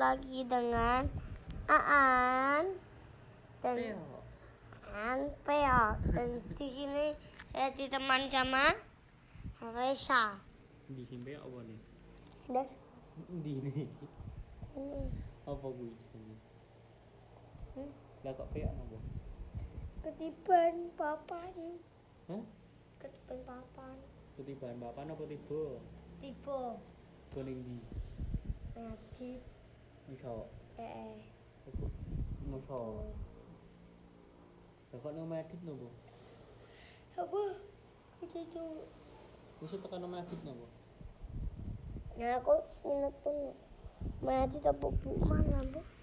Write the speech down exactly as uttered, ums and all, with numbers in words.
lagi dengan Aan dan Peo. Aan Peo. Dan di sini saya ditemani sama Reza. Di sini apa nih? Das Di ini. ini. Apa gue ini? Hmm? Lah kok peo apa? Ketiban papan. Hah? Ketiban papan. Ketiban papan apa tiba? Tiba. Kuning di. Ngaji. Iso. Eh. Aku muso. Lah kok nang medit nopo? Apa? Itu. Wis tekan nang medit nopo? Nah aku nginep pun. Ngaji tak bu mana bu?